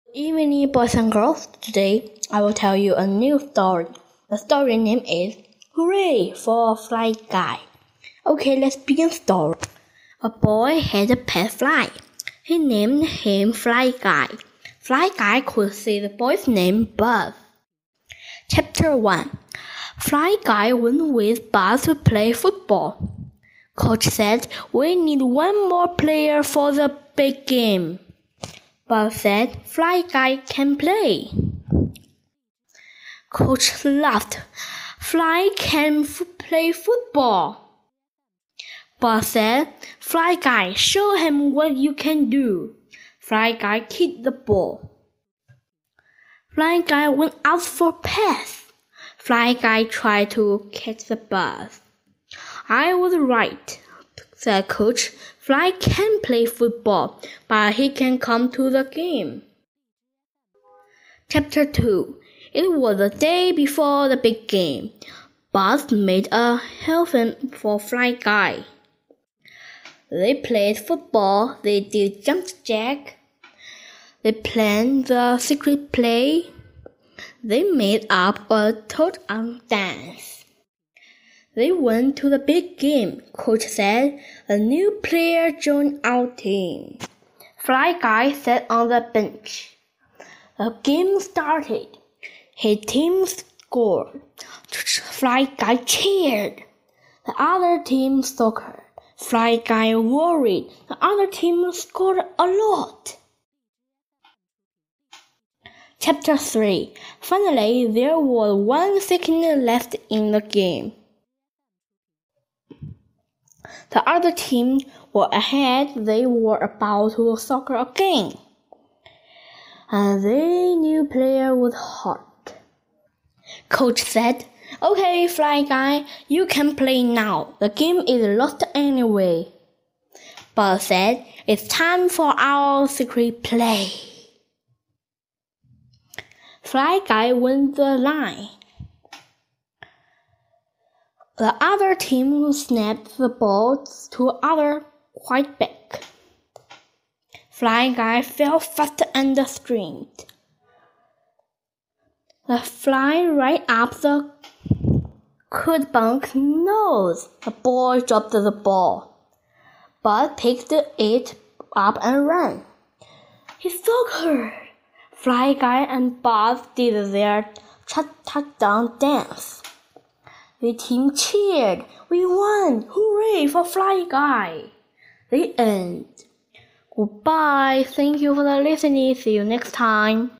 Evening, boys and girls. Today, I will tell you a new story. The story name is Hooray for a Fly Guy. Okay, let's begin story. A boy had a pet fly. He named him Fly Guy. Fly Guy could see the boy's name Buzz. Chapter 1. Fly Guy went with Buzz to play football. Coach said, "We need one more player for the big game." Buzz said, "Fly Guy can play." Coach laughed. "Fly can play football." Buzz said, "Fly Guy, show him what you can do." Fly Guy kicked the ball. Fly Guy went out for a pass. Fly Guy tried to catch the ball. "I was right," said Coach. "Fly can play football, but he can come to the game." Chapter 2. It was the day before the big game. Buzz made a helmet for Fly Guy. They played football. They did jump jack. They planned the secret play. They made up a toad dance. They went to the big game. Coach said, "A new player joined our team." Fly Guy sat on the bench. The game started. His team scored. Fly Guy cheered. The other team soccer. Fly Guy worried. The other team scored a lot. Chapter 3. Finally, there was 1 second left in the game. The other team were ahead. They were about to soccer again. And the new player was hurt. Coach said, "Okay, Fly Guy, you can play now. The game is lost anyway." Buzz said, "It's time for our secret play." Fly Guy went the line. The other team snapped the ball to other quite back. Fly Guy fell fast and screamed. The fly right up the Cudbunk's nose. The boy dropped the ball. Buzz picked it up and ran. He's so hurt. Fly Guy and Buzz did their touchdown dance. The team cheered. "We won! Hooray for Fly Guy!" The end. Goodbye. Thank you for listening. See you next time.